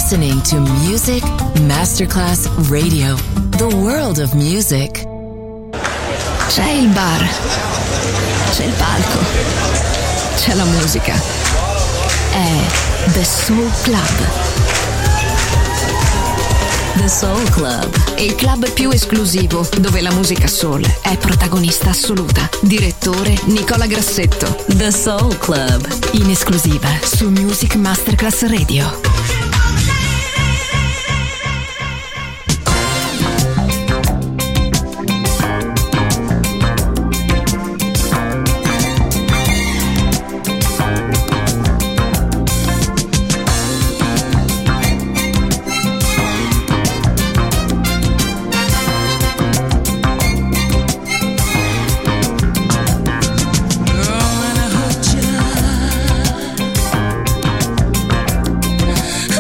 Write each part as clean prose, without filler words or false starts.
listening to Music Masterclass Radio, the world of music. C'è il bar, c'è il palco, c'è la musica. È The Soul Club. The Soul Club, Il club più esclusivo dove la musica soul è protagonista assoluta. Direttore Nicola Grassetto. The Soul Club, In esclusiva su Music Masterclass Radio. Girl, when I hurt you,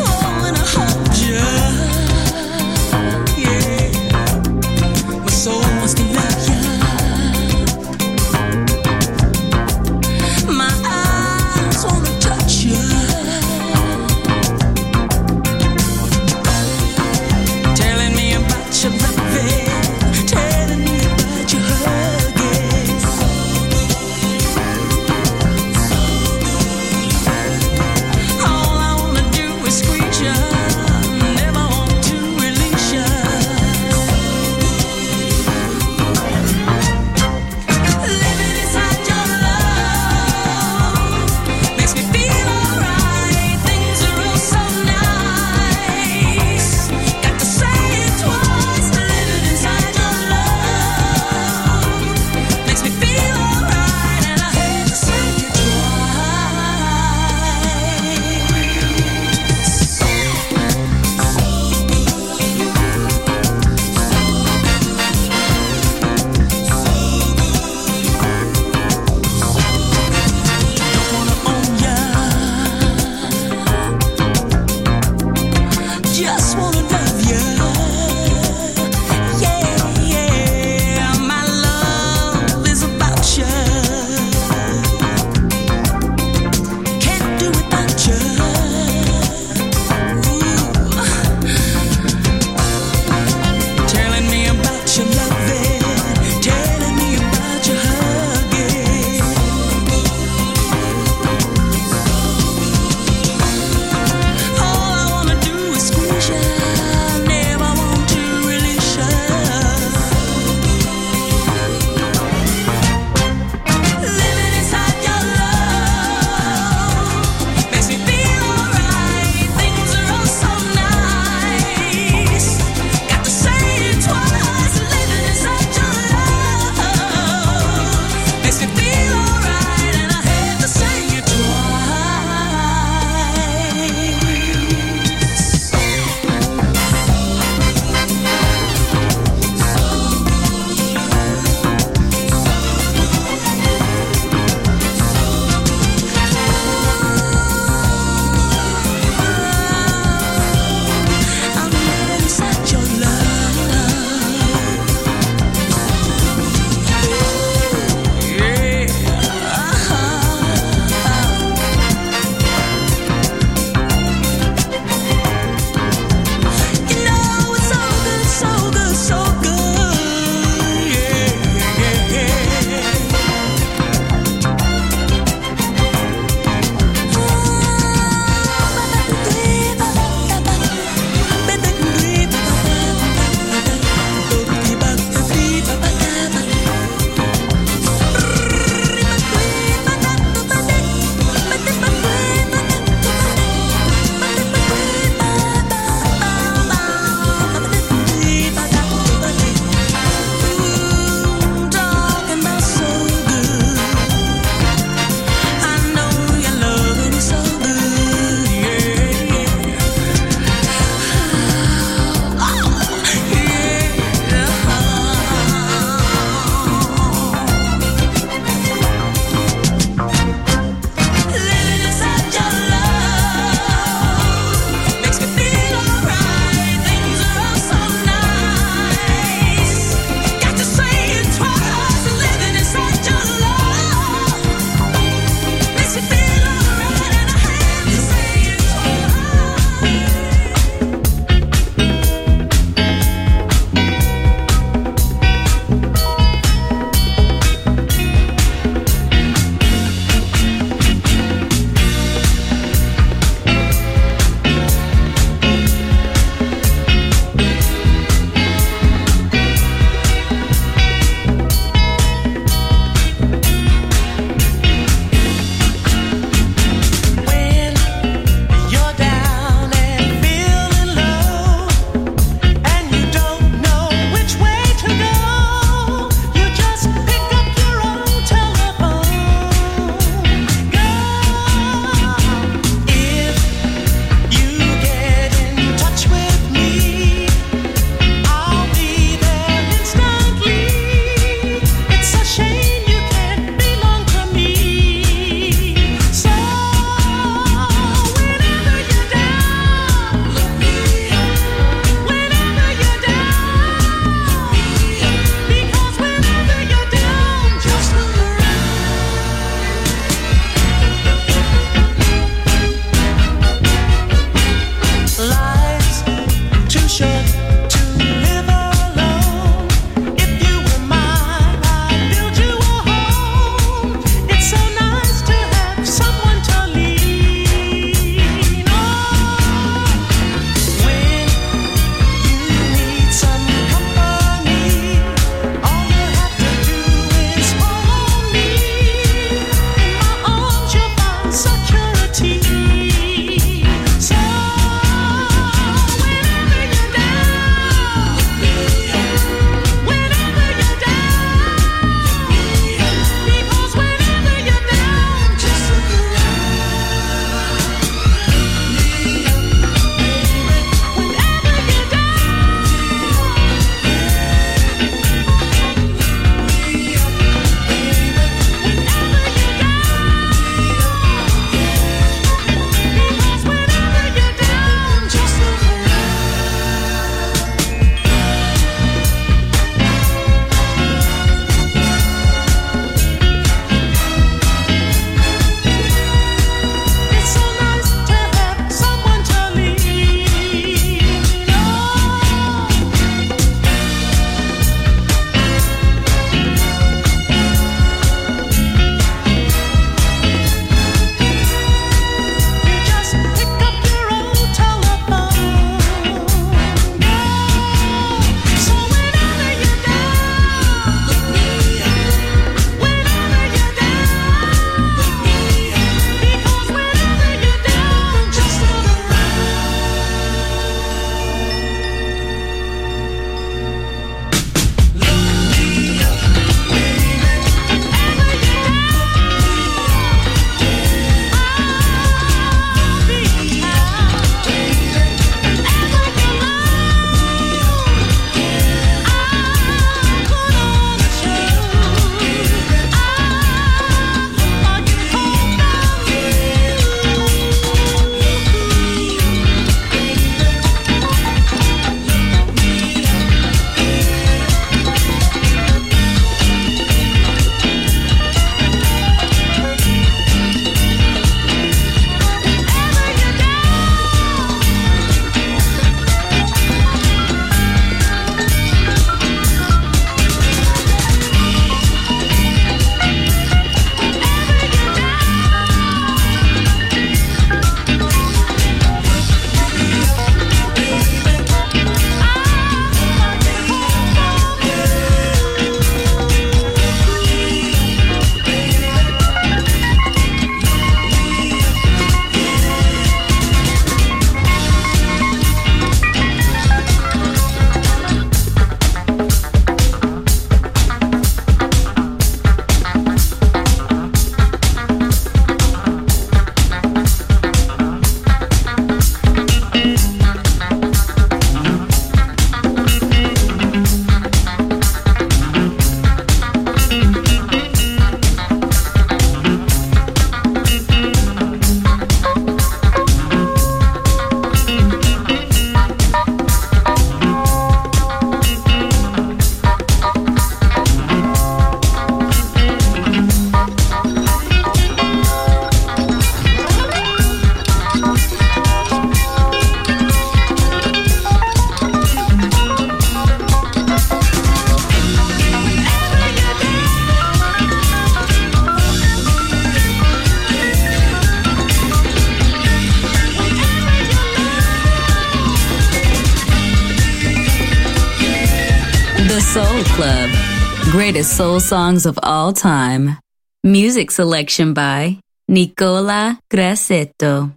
Soul Club. Greatest soul songs of all time. Music selection by Nicola Grassetto.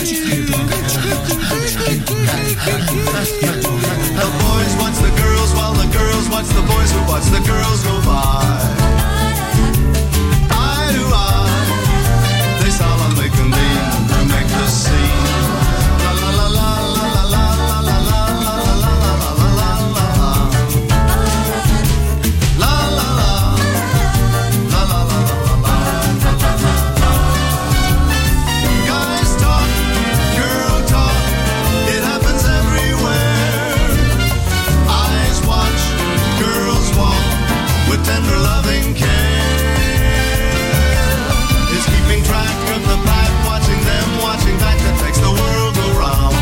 The boys watch the girls while the girls watch the boys who watch the girls go by. Eye to eye, they solemnly convene to make the scene. La la la la la la la la la la la la la la la. La la la la la la la la. Guys talk, girl talk, it happens everywhere. Eyes watch, girls walk with tender loving care. It's keeping track of the pack, watching them, watching back, that makes the world go round.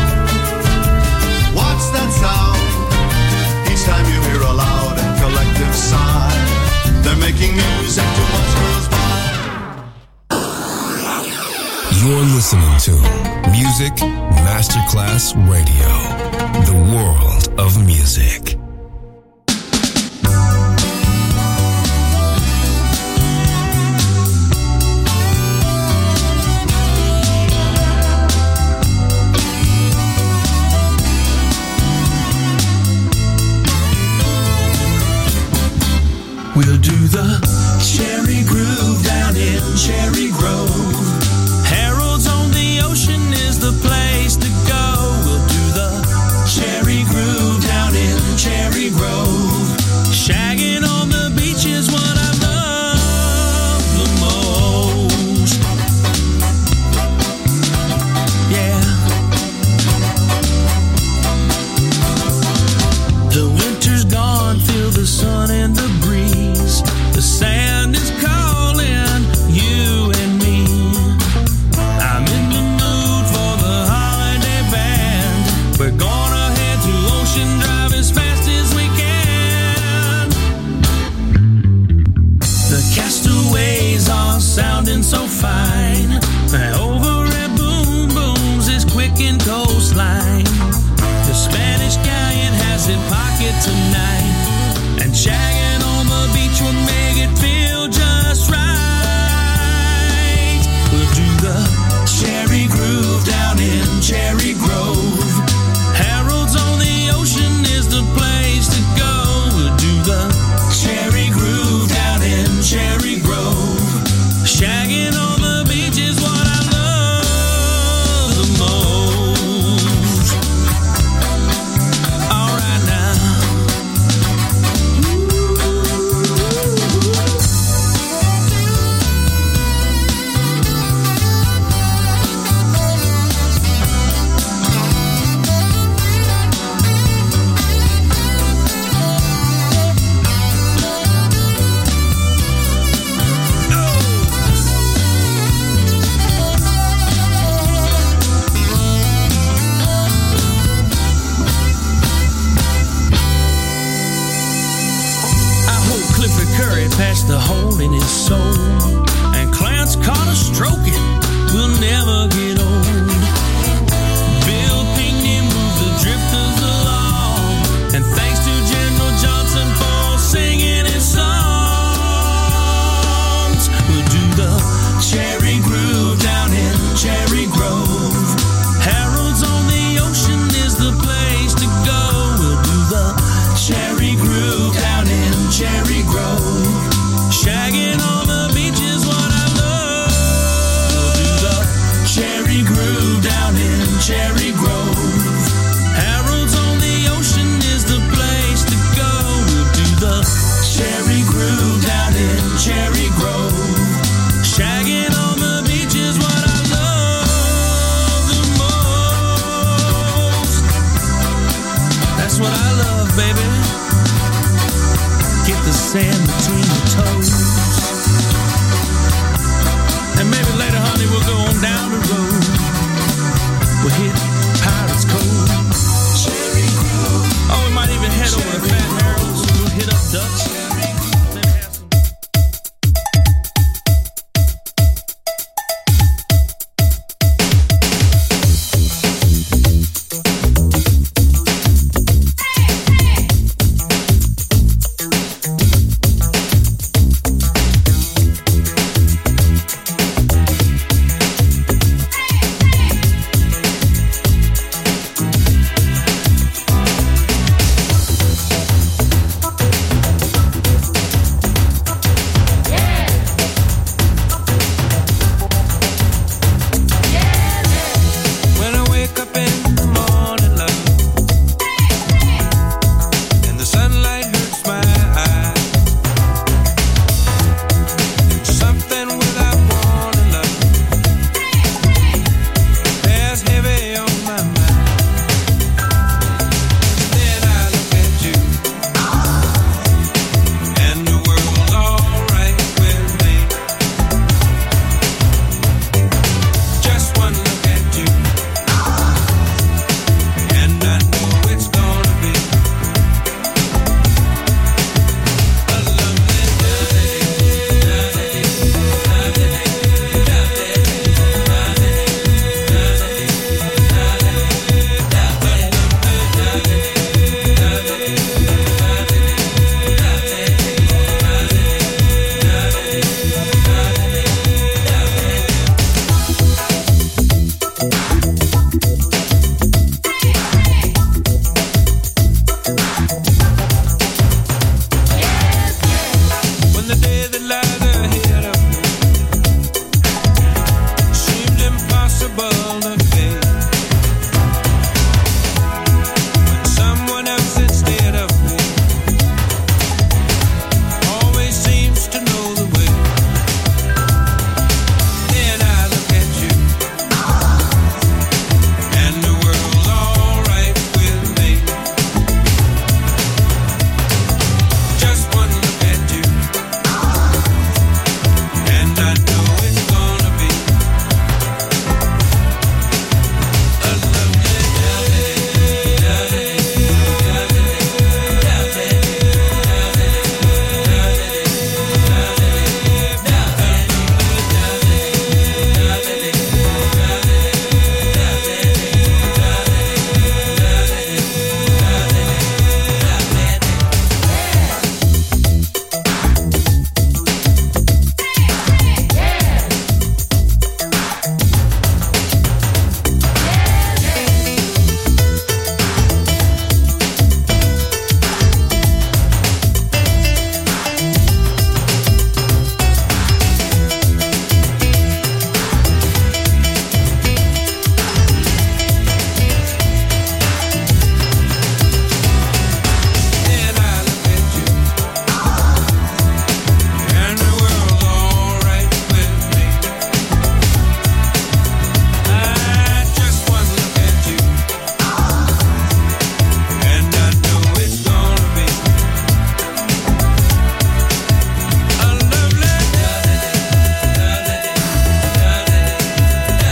What's that sound? Each time you hear a loud and collective sigh, they're making music to watch girls by. You're listening to Music Masterclass Radio, the world of music. We'll do the Cherry Groove down in Cherry Grove. Harold's on the Ocean is the place to go. We'll do the Cherry Groove down in Cherry Grove. Shagging on the beach is what I love the most. Yeah. The winter's gone, feel the sun and the breeze. The sand is calling you and me. I'm in the mood for the holiday band. We're gonna head to Ocean Drive as fast as we can. The castaways are sounding so fine. Over at Boom Booms is quick and coastline. The Spanish galleon has it pocket tonight. And shagging on the beach will make it feel just right. We'll do the Cherry Groove down in Cherry Grove. Harold's on the Ocean is the place to go. We'll do the Cherry Groove down in Cherry Grove. Shagging on the beach is what I love the most. All right now. Past the hole in his soul, and Clarence Carter stroking will never get old. Bill Pinkney moved the drifters along, and thanks to General Johnson for singing his songs. We'll do the Cherry Groove down in Cherry Grove. Harold's on the Ocean is the place to go. We'll do the Cherry Groove down in Cherry Grove. Shagging on the beach is what I love. We'll do the Cherry Groove down in Cherry Grove. Harold's on the Ocean is the place to go. We'll do the Cherry Groove down in Cherry Grove. Shagging on the beach is what I love the most. That's what I love, baby. Get the sand between your toes. And maybe later, honey, we'll go on down the road. We'll hit Pirates Cove. Cherry Grove. Oh, we might even head over to Fat Harold's. We'll hit up Dutch.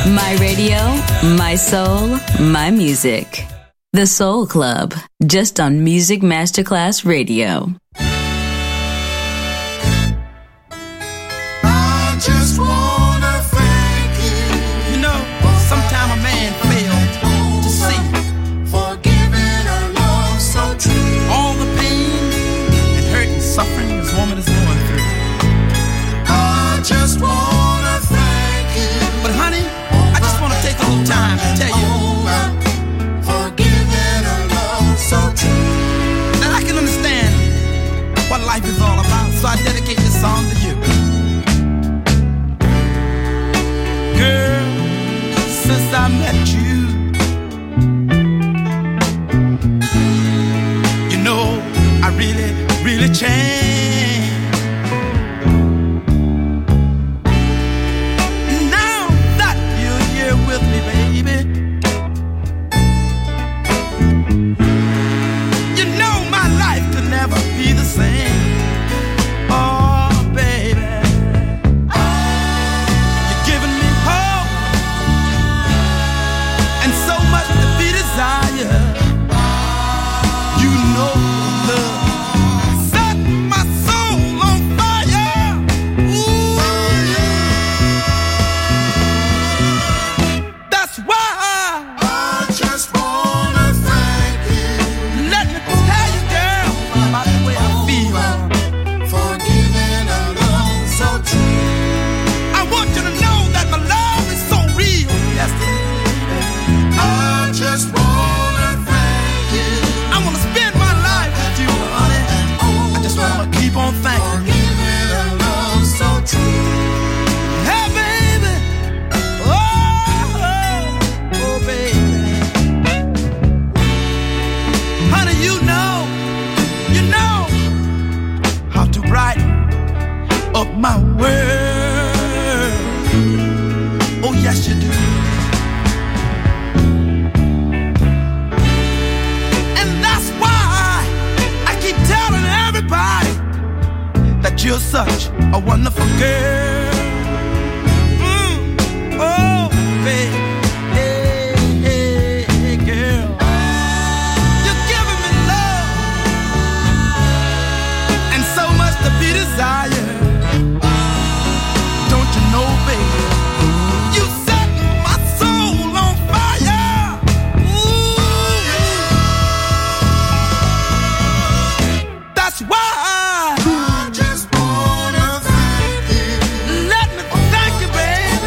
My radio, my soul, my music. The Soul Club, just on Music Masterclass Radio. I just wanna thank you. You know, sometime a man failed to see Forgiving a love so true. all the pain and hurt and suffering this woman is going through. I just wanna thank you. But honey, I just want to take a little time to tell you Forgiving a love so true. that I can understand what life is all about. So I dedicate this song to you. Girl, since I met you, you know, I really, really changed. Now that you're here with me, baby, you know my life could never be the same. Oh, baby, you're giving me hope and so much to be desired. You know love set my soul on fire. Ooh, that's why I just wanna thank you. let me tell you, girl, about the way I feel. Forgiving a love so true. I want you to know that my love is so real. Yes, it is. I just wanna thank you. I want to spend my life with you, honey. I just want to keep on thanking you. Forgiving a love so true. Hey, baby. Oh, baby. Honey, you know how to brighten up my world. Oh, yes, you do. And that's why I keep telling everybody that you're such a wonderful girl. Oh, baby. Hey, hey, hey, girl. You're giving me love and so much to be desired. Don't you know, baby? You set my soul on fire. Ooh. That's why I just wanna thank you. let me thank you, baby.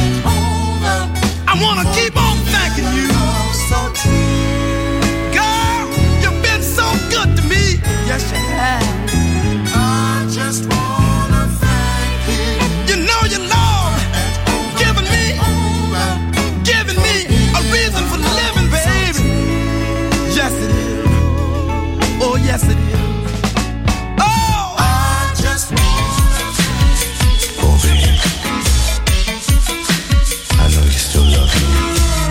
I wanna keep on thanking you. Love so true. Girl, you've been so good to me. Yes, you have. I just wanna thank you. You know your love giving me a reason for living, baby. Yes, it is. Oh, yes, it is. Oh, I just wanna Oh, babe. I know you still love me.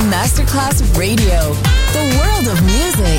Masterclass Radio, the world of music.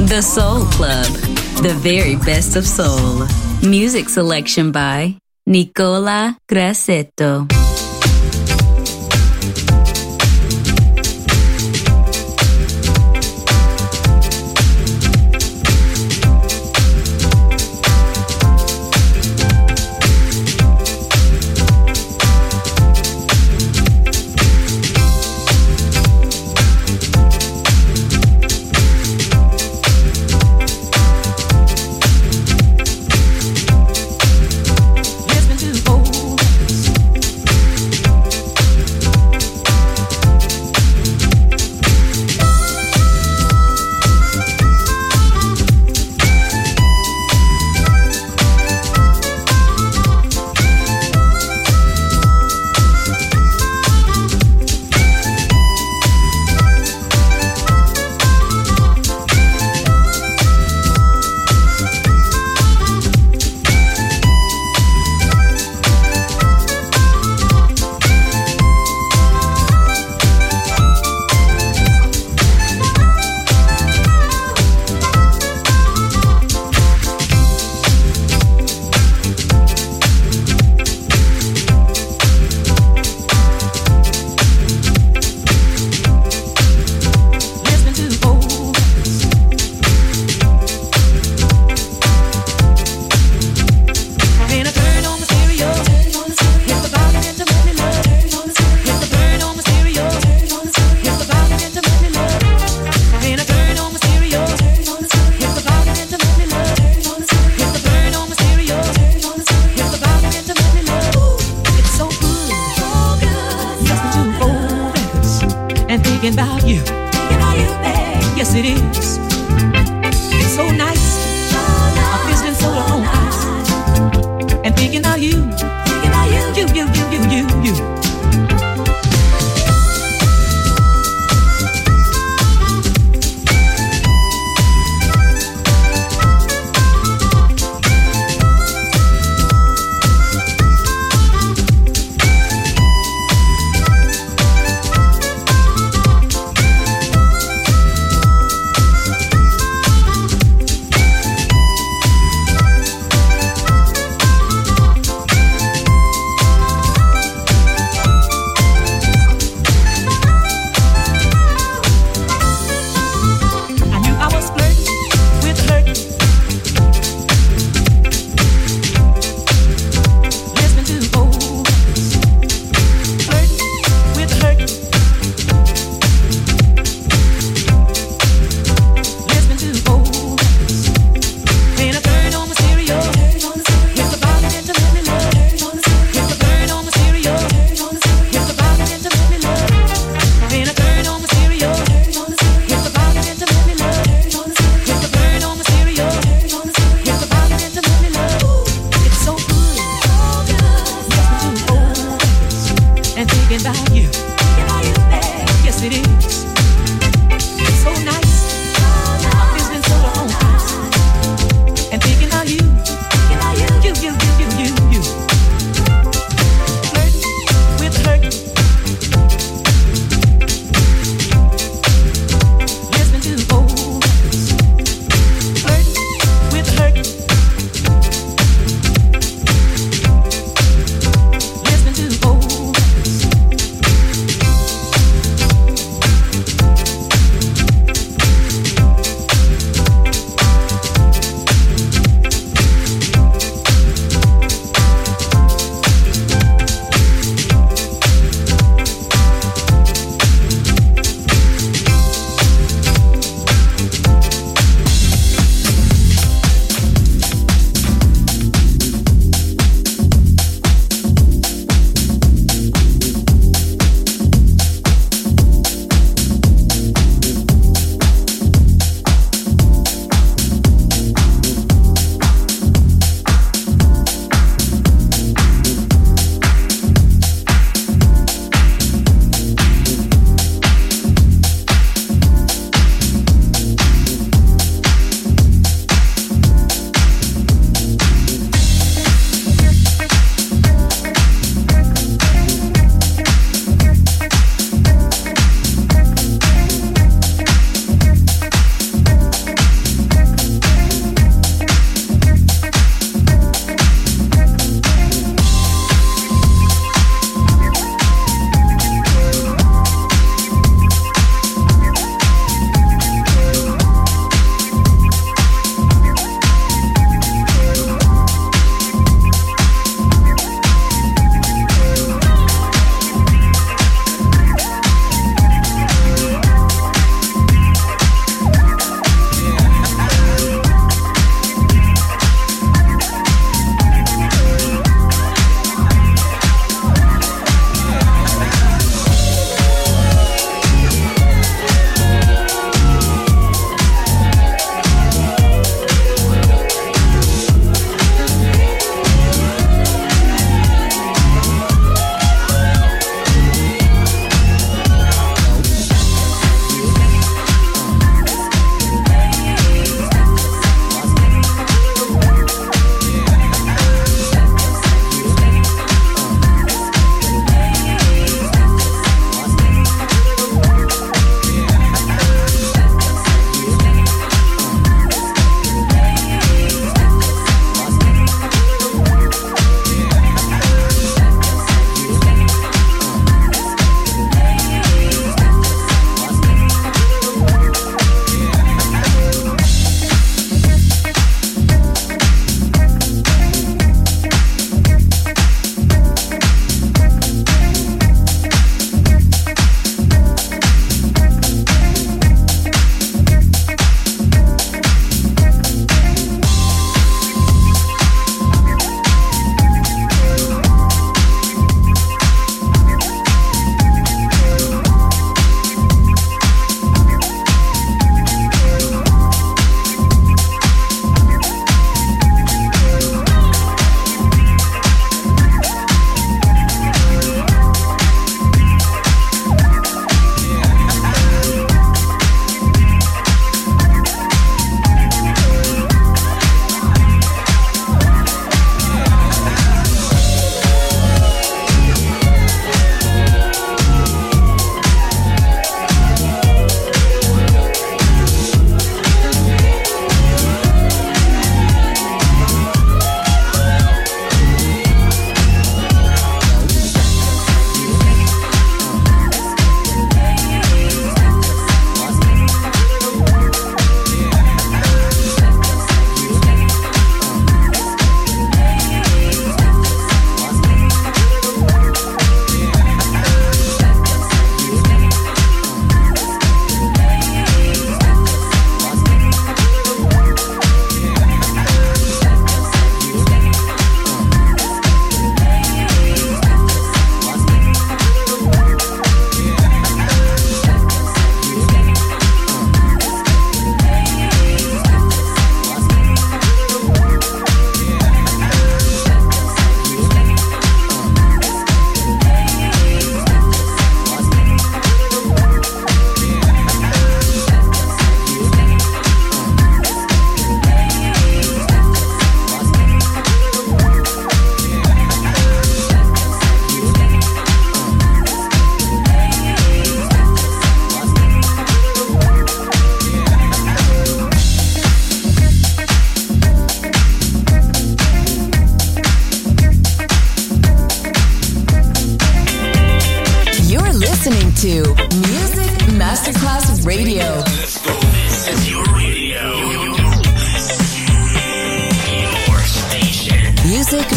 The Soul Club, the very best of soul. Music selection by Nicola Grassetto.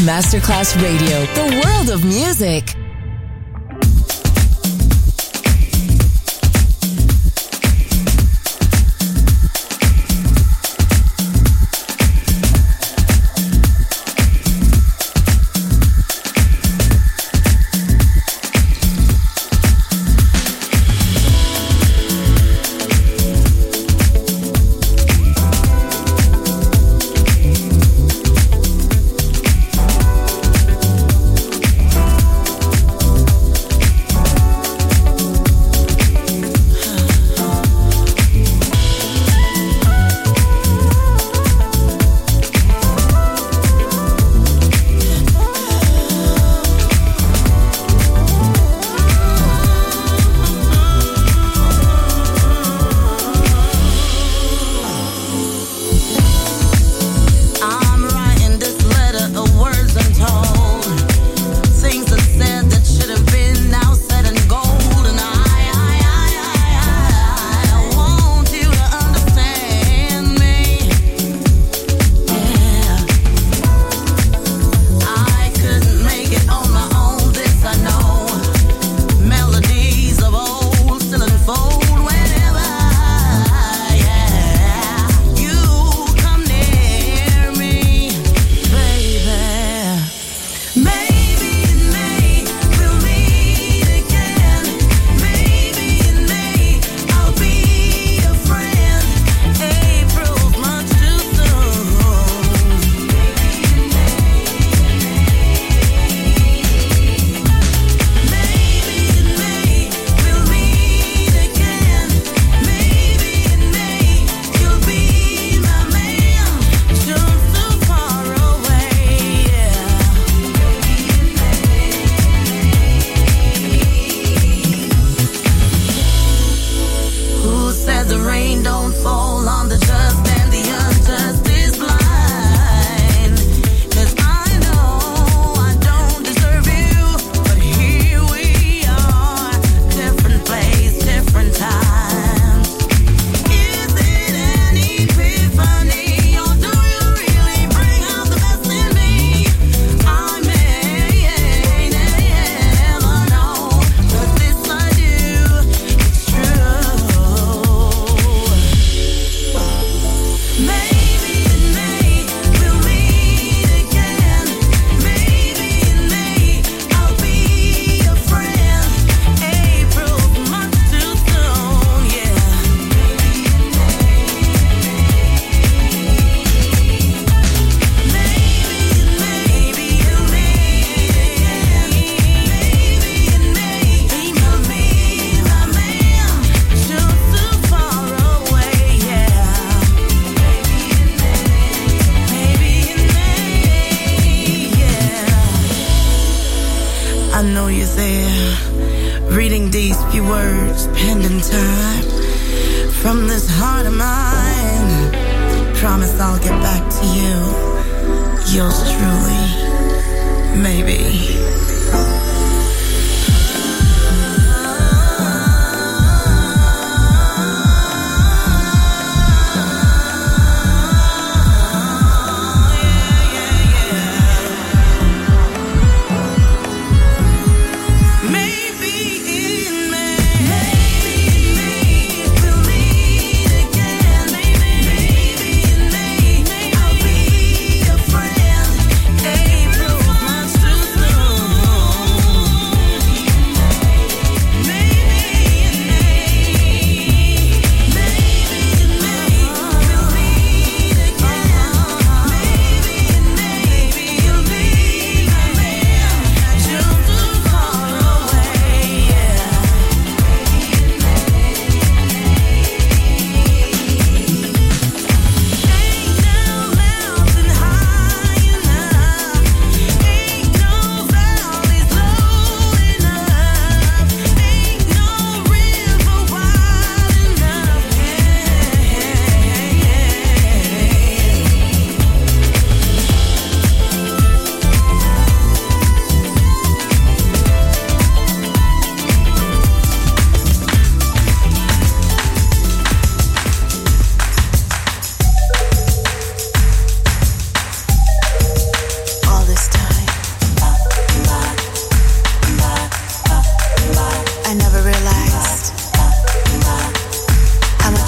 Masterclass Radio, the world of music.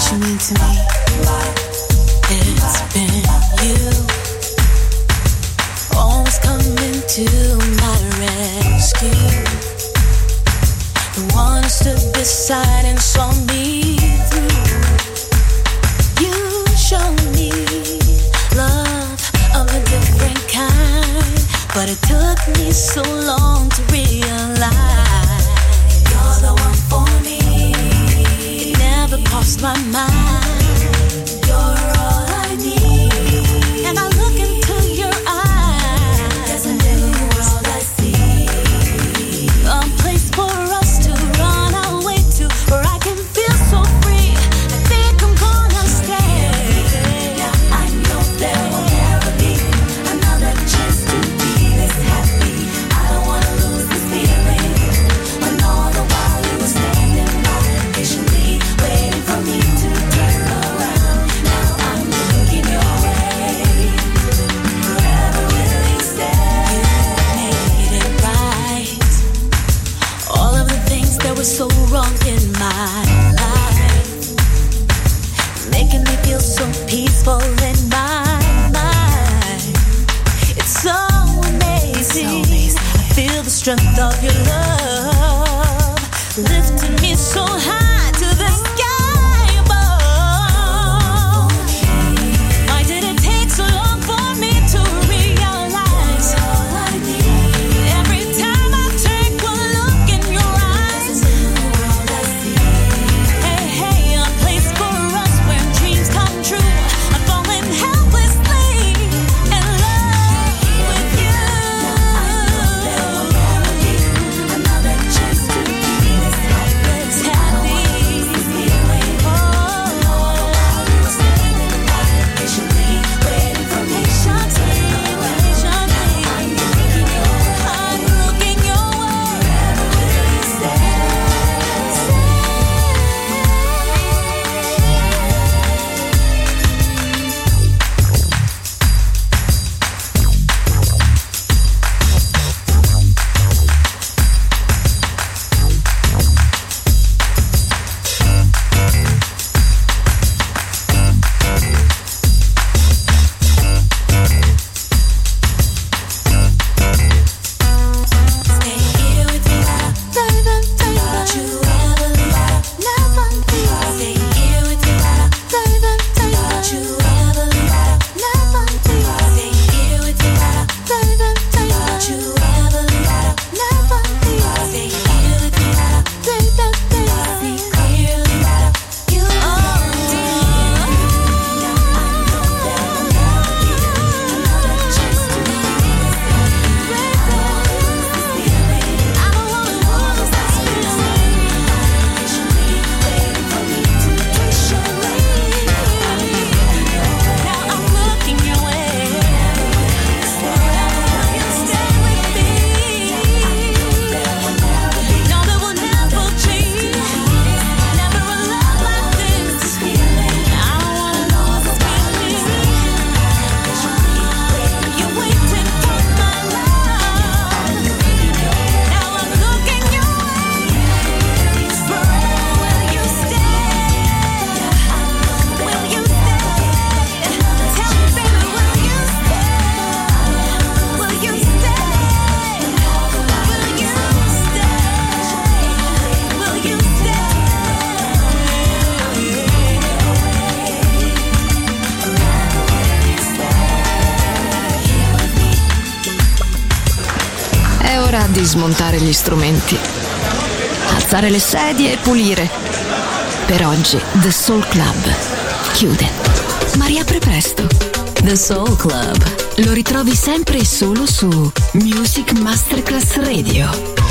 you mean to me. It's been you, always coming to my rescue. The one who stood beside and saw me through. You showed me love of a different kind, but it took me so long to realize you're the one for me. It never crossed my mind. You're all I need. And I look into your eyes. There's a new world I see. A place for us to run away to, where I can feel so free. I think I'm gonna stay. Now I know there will never be another chance to be this happy. I don't wanna lose this feeling. When all the while you were standing by, patiently waiting for me to turn around. Now I'm looking your way. Forever will you stay? You made it right. All of the things that were so wrong in my life, making me feel so peaceful in my mind. It's so amazing. I feel the strength of your love, lifting me so high to the sky above. Why did it take so long for me to realize? Every time I take one look in your eyes, hey, hey, a place for us where dreams come true. I'm falling helplessly in love with you. There will never be another chance to be this happy. Oh, all the while you were standing by, patiently waiting for me. I'm looking your way. Forever will you stay? Stay here with me, don't you ever leave, never leave. Stay here with me, don't you ever leave, never leave. Stay here with me, don't you ever leave, never leave. Stay here with me, see clearly, you are. Now I know there will never be another chance to be this happy. I don't wanna lose this feeling. Patiently waiting for me to push away. Now I'm looking your way. Forever will you stay with me? No, there will never change. Never a love like this. I don't wanna lose this feeling. You're waiting for my love. Now I'm looking your way. Forever will you stay? Will you stay? Tell me, baby, will you stay? Will you stay? Will you stay? Will you stay? È ora di smontare gli strumenti, alzare le sedie e pulire. Per oggi The Soul Club chiude, ma riapre presto. The Soul Club. Lo ritrovi sempre e solo su Music Masterclass Radio.